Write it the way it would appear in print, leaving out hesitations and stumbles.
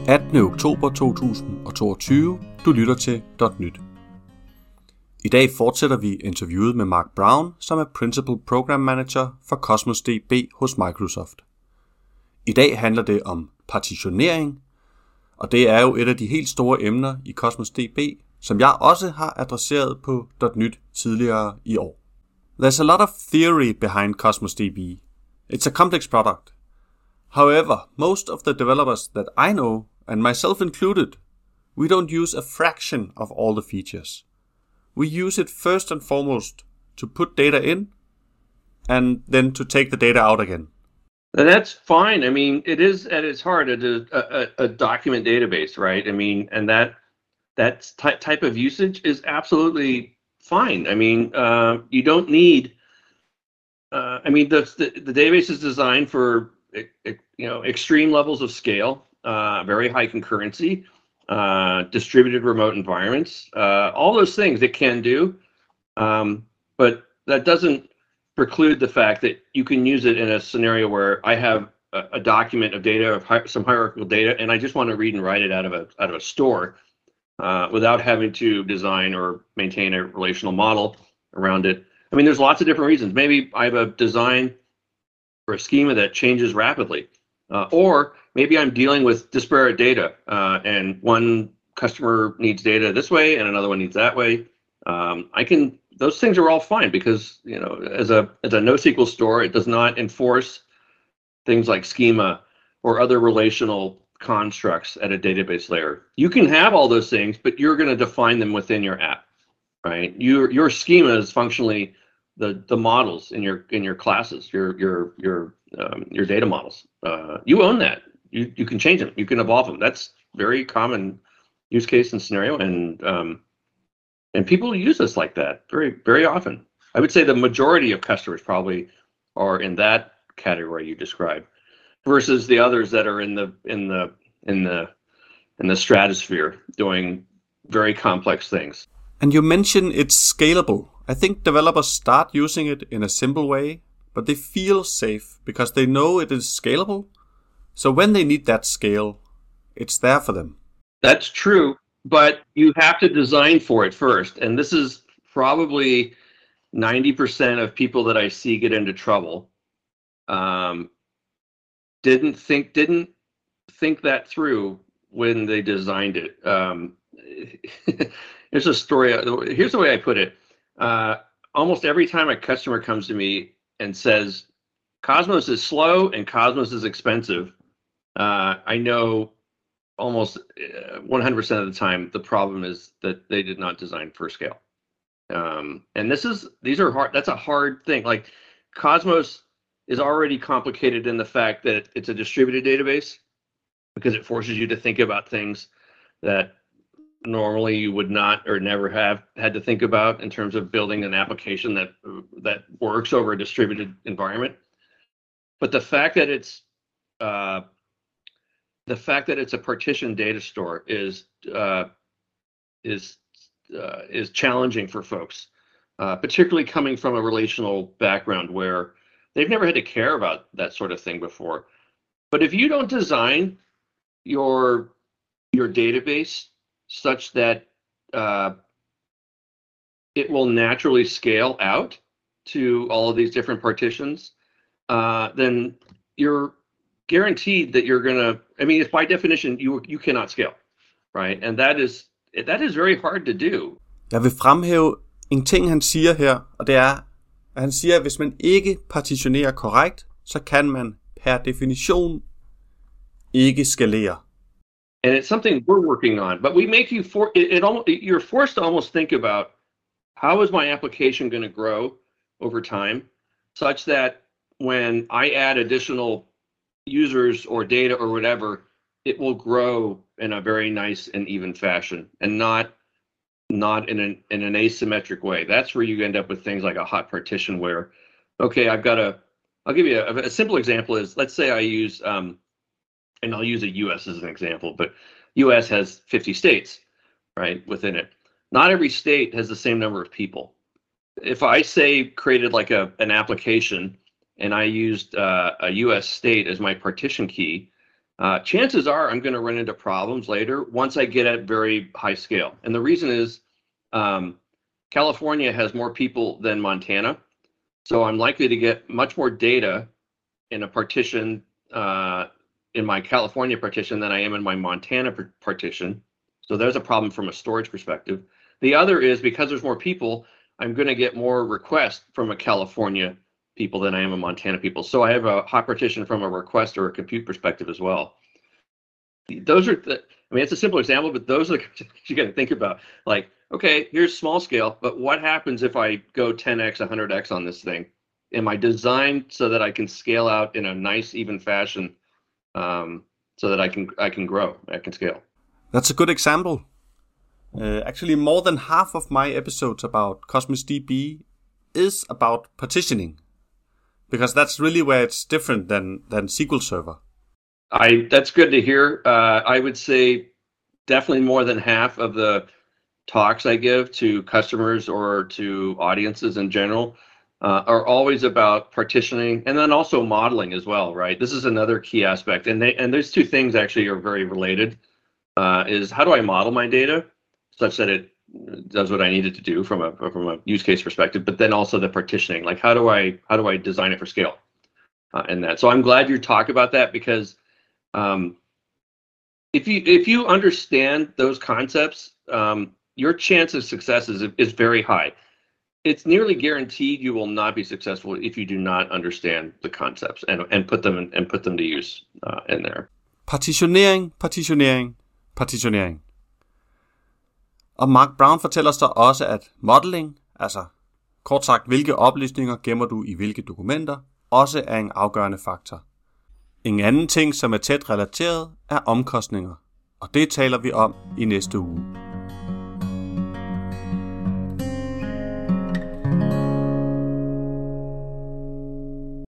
18. oktober 2022. Du lytter til .nyt. I dag fortsætter vi interviewet med Mark Brown, som er Principal Program Manager for Cosmos DB hos Microsoft. I dag handler det om partitionering, og det er jo et af de helt store emner i Cosmos DB, som jeg også har adresseret på .nyt tidligere i år. There's a lot of theory behind Cosmos DB. It's a complex product. However, most of the developers that I know, and myself included, we don't use a fraction of all the features. We use it first and foremost to put data in, and then to take the data out again. And that's fine. I mean, it is at its heart a document database, right? I mean, and that type of usage is absolutely fine. I mean, you don't need. The database is designed for extreme levels of scale, very high concurrency, distributed remote environments, all those things it can do, but that doesn't preclude the fact that you can use it in a scenario where I have a document of data, of some hierarchical data, and I just want to read and write it out of a store without having to design or maintain a relational model around it. I mean, there's lots of different reasons. Maybe I have a design or a schema that changes rapidly, or maybe I'm dealing with disparate data, and one customer needs data this way and another one needs that way. Those things are all fine because, as a NoSQL store, it does not enforce things like schema or other relational constructs at a database layer. You can have all those things, but you're going to define them within your app, right? Your schema is functionally the models in your classes, your data models. You own that. You can change them. You can evolve them. That's very common use case and scenario, and people use this like that very, very often. I would say the majority of customers probably are in that category you described, versus the others that are in the stratosphere doing very complex things. And you mentioned it's scalable. I think developers start using it in a simple way, but they feel safe because they know it is scalable. So when they need that scale, it's there for them. That's true, but you have to design for it first. And this is probably 90% of people that I see get into trouble. Didn't think that through when they designed it. There's a story. Here's the way I put it. Almost every time a customer comes to me and says, Cosmos is slow and Cosmos is expensive, I know almost 100% of the time the problem is that they did not design for scale. And these are hard. That's a hard thing. Like, Cosmos is already complicated in the fact that it's a distributed database, because it forces you to think about things that normally you would not or never have had to think about in terms of building an application that works over a distributed environment. But the fact that it's a partitioned data store is challenging for folks, particularly coming from a relational background where they've never had to care about that sort of thing before. But if you don't design your database such that it will naturally scale out to all of these different partitions, then you're guaranteed that you're gonna. I mean, it's by definition you cannot scale, right? And that is very hard to do. Jeg vil fremhæve en ting, han siger her, og det er, at han siger, at hvis man ikke partitionerer korrekt, så kan man per definition ikke skalere. And it's something we're working on, but we make you you're forced to almost think about, how is my application going to grow over time, such that when I add additional users or data or whatever, it will grow in a very nice and even fashion, and not in an asymmetric way. That's where you end up with things like a hot partition where, okay, I'll give you a simple example is, let's say I use, and I'll use the US as an example, but US has 50 states, right, within it. Not every state has the same number of people. If I created like an application and I used a US state as my partition key, chances are I'm going to run into problems later once I get at very high scale. And the reason is California has more people than Montana. So I'm likely to get much more data in a partition, in my California partition than I am in my Montana partition. So there's a problem from a storage perspective. The other is because there's more people, I'm going to get more requests from a California people than I am a Montana people. So I have a hot partition from a request or a compute perspective as well. Those are it's a simple example, but those are the things you got to think about. Like, okay, here's small scale, but what happens if I go 10x, 100x on this thing? Am I designed so that I can scale out in a nice, even fashion, so that I can grow, I can scale? That's a good example. Actually, more than half of my episodes about Cosmos DB is about partitioning, because that's really where it's different than SQL Server. That's good to hear. I would say definitely more than half of the talks I give to customers or to audiences in general are always about partitioning, and then also modeling as well, right? This is another key aspect, and those two things actually are very related. Is how do I model my data such that it does what I need it to do from a use case perspective, but then also the partitioning, like how do I design it for scale, and that. So I'm glad you talk about that, because if you understand those concepts, your chance of success is very high. It's nearly guaranteed you will not be successful if you do not understand the concepts and put them to use in there. Partitionering. Og Mark Brown fortæller så også, at modeling, altså kort sagt, hvilke oplysninger gemmer du i hvilke dokumenter, også er en afgørende faktor. En anden ting, som er tæt relateret, er omkostninger, og det taler vi om i næste uge.